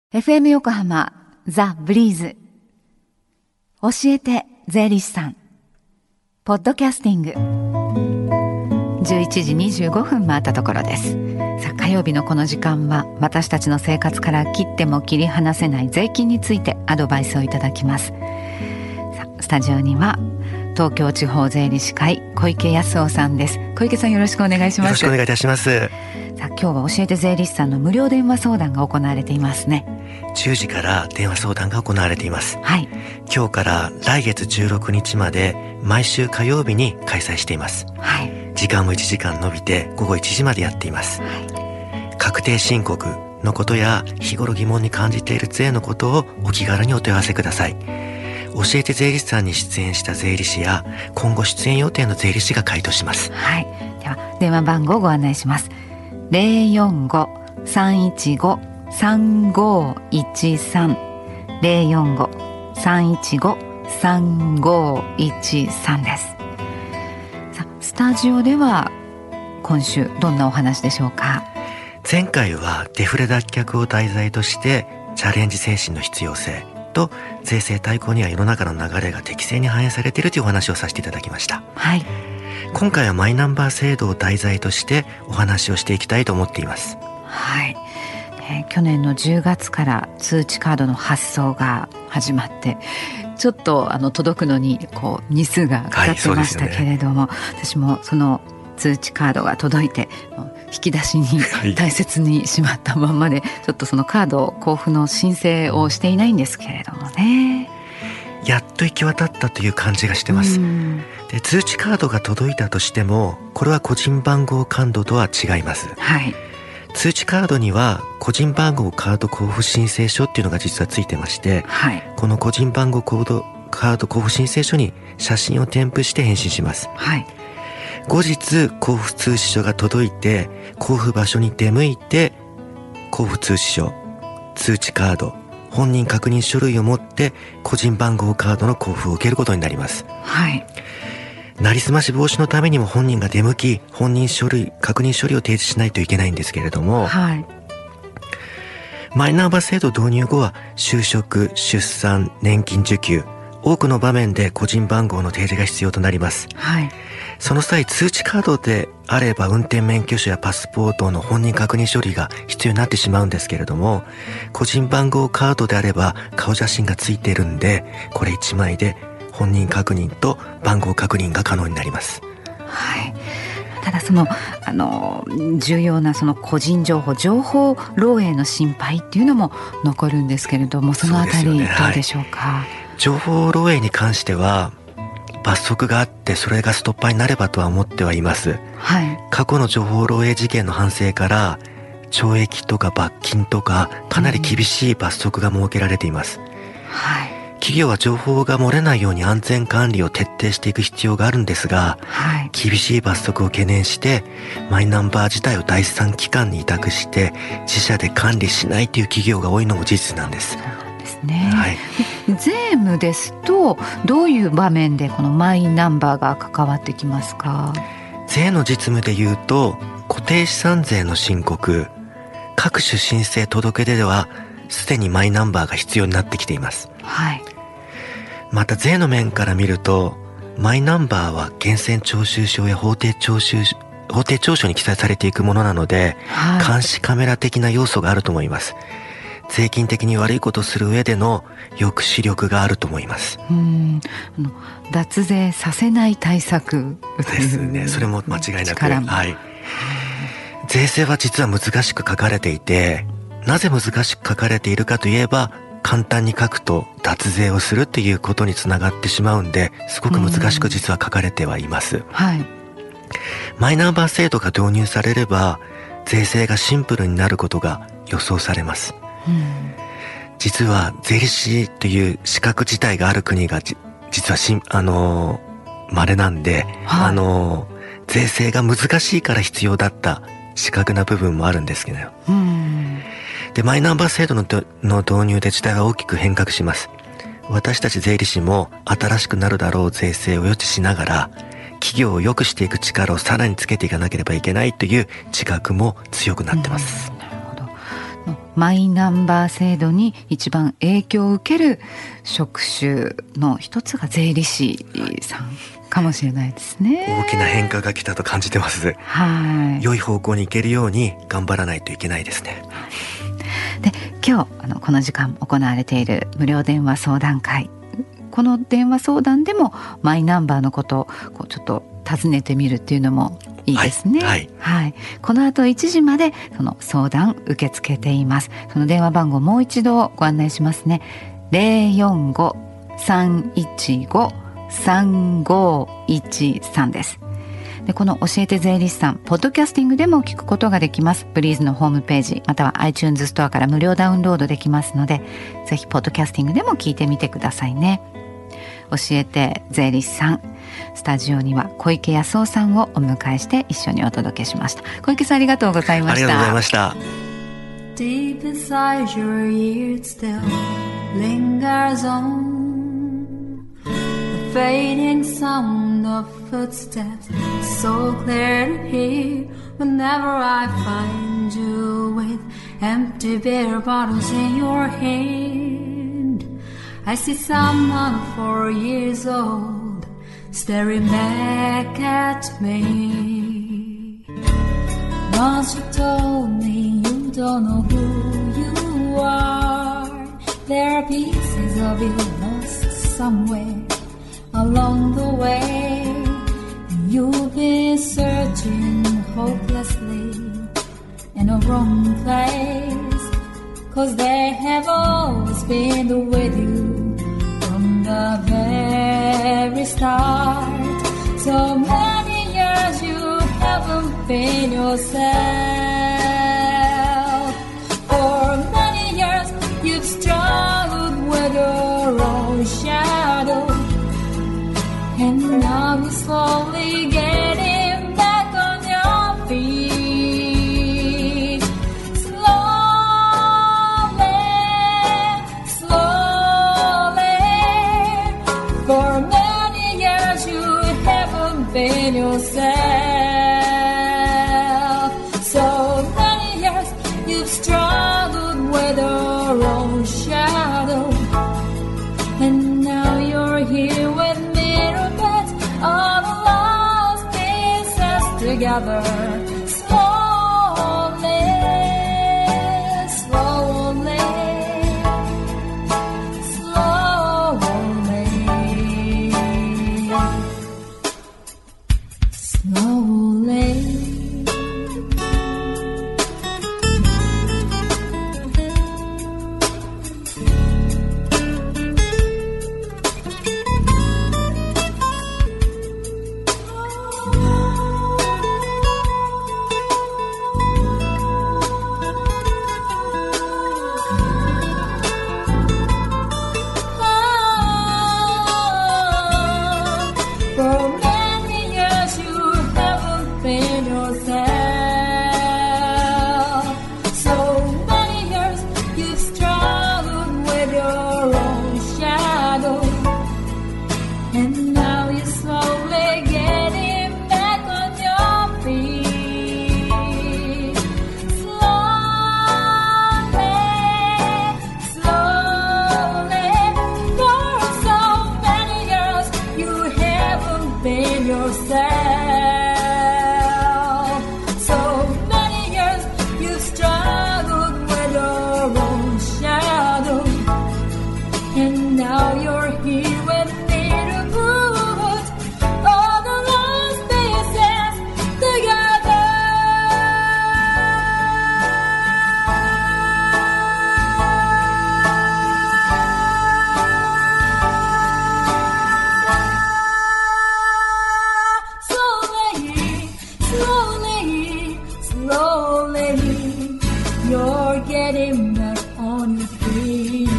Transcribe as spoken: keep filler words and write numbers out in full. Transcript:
エフエム 横浜ザ・ブリーズ教えて税理士さんポッドキャスティングじゅういちじにじゅうごふん回ったところです。さあ、火曜日のこの時間は私たちの生活から切っても切り離せない税金についてアドバイスをいただきます。さあ、スタジオには東京地方税理士会小池康夫さんです。小池さん、よろしくお願いします。 よろしくお願いいたします。 さあ、今日は教えて税理士さんの無料電話相談が行われていますね。 じゅうじから電話相談が行われています。 はい。 今日から来月じゅうろくにちまで毎週火曜日に開催しています。 はい。 時間もいちじかん延びて午後いちじまでやっています。 はい、 確定申告のことや日頃疑問に感じている税のことをお気軽にお問い合わせください。教えて税理士さんに出演した税理士や今後出演予定の税理士が回答します。 はい。では電話番号をご案内します。ゼロよんご さんいちご さんごいちさん ゼロよんご さんいちご さんごいちさんです。さあ、スタジオでは今週どんなお話でしょうか。 前回はデフレ脱却を題材としてチャレンジ精神の必要性と税制大綱には世の中の流れが適正に反映されているというお話をさせていただきました。 はい。 今回はマイナンバー制度を題材としてお話をしていきたいと思っています。 はい。えー、去年のじゅうがつから通知カードの発送が始まってちょっとあの届くのにこう日数がかかってましたけれども、はい、ね、私もその通知カードが届いて引き出しに大切にしまったまんまで、はい、ちょっとそのカード交付の申請をしていないんですけれどもね、 やっと行き渡ったという感じがしてます。で、通知カードが届いたとしてもこれは個人番号カードとは違います。 はい。 通知カードには個人番号カード交付申請書っていうのが実はついてまして、 はい、 この個人番号コードカード交付申請書に写真を添付して返信します。 はい。 後日交付通知書が届いて交付場所に出向いて交付通知書、通知カード、本人確認書類を持って個人番号カードの交付を受けることになります。 はい。 なりすまし防止のためにも本人が出向き本人書類確認書類を提示しないといけないんですけれども、 はい、 マイナンバー制度導入後は就職、出産、年金受給、多くの場面で個人番号の提示が必要となります。 はい。 その際通知カードであれば運転免許証やパスポートの本人確認書類が必要になってしまうんですけれども、個人番号カードであれば顔写真がついているんでこれいちまいで本人確認と番号確認が可能になります。 はい。ただそのあの重要なその個人情報情報漏洩の心配っていうのも残るんですけれども、そのあたりどうでしょうか。 はい、情報漏洩に関しては罰則があってそれがストッパーになればとは思ってはいます。 はい。 過去の情報漏洩事件の反省から懲役とか罰金とかかなり厳しい罰則が設けられています。 うん、はい。 企業は情報が漏れないように安全管理を徹底していく必要があるんですが、 はい、 厳しい罰則を懸念してマイナンバー自体を第三機関に委託して自社で管理しないという企業が多いのも事実なんです。 そうなんですね。 はい、 税務ですとどういう場面でこのマイナンバーが関わってきますか。 税の実務でいうと固定資産税の申告、各種申請届出ではすでにマイナンバーが必要になってきています。 はい。 また税の面から見るとマイナンバーは源泉徴収証や法定徴収法定調書に記載されていくものなので、はい、監視カメラ的な要素があると思います。税金的に悪いことをする上での抑止力があると思います。 うーん、あの脱税させない対策ですね。それも間違いなく、はい、税制は実は難しく書かれていて、なぜ難しく書かれているかといえば簡単に書くと脱税をするっていうことにつながってしまうんで、すごく難しく実は書かれてはいます。 はい。 マイナンバー制度が導入されれば税制がシンプルになることが予想されます。うん、実は税理士という資格自体がある国がじ実はしあのー、稀なんで、はい、あのー、税制が難しいから必要だった資格な部分もあるんですけど、うん、でマイナンバー制度のの導入で時代は大きく変革します。私たち税理士も新しくなるだろう税制を予知しながら企業を良くしていく力をさらにつけていかなければいけないという自覚も強くなってます。 うん、なるほど。 マイナンバー制度に一番影響を受ける職種の一つが税理士さんかもしれないですね。 大きな変化が来たと感じてます。はい、良い方向に行けるように頑張らないといけないですね。 で、今日あのこの時間行われている無料電話相談会、この電話相談でもマイナンバーのことをこうちょっと尋ねてみるっていうのもいいですね。はい、はいはい、この後いちじまでその相談受け付けています。その電話番号もう一度ご案内しますね。 ゼロよんご さんいちご さんごいちさんです。で、この教えて税理士さん、ポッドキャスティングでも聞くことができます。ブリーズのホームページまたは iTunes ストアから無料ダウンロードできますので、ぜひポッドキャスティングでも聞いてみてくださいね。教えて税理士さん、スタジオには小池康夫さんをお迎えして一緒にお届けしました。小池さん、ありがとうございました。 ありがとうございました。 Deep inside your ears still lingers on the fading sound of footsteps, so clear to hear whenever I find you with empty beer bottles in your hand. I see someone four years old staring back at me. Once you told me you don't know who you are. There are pieces of you lost somewhere along the way. You've been searching hopelessly in a wrong place, 'cause they have always been with you from the very start. So many years you haven't been yourself. For many years you've struggled with your own shadow, and now you're slowly getting back on your feet. Slowly, slowly. For many years you haven't been yourself. So many years you've struggled with your own shadow, and now you're here with me, all the lost pieces together. Slowly, slowly, slowly, slowly. Slowly, you're getting back on your feet.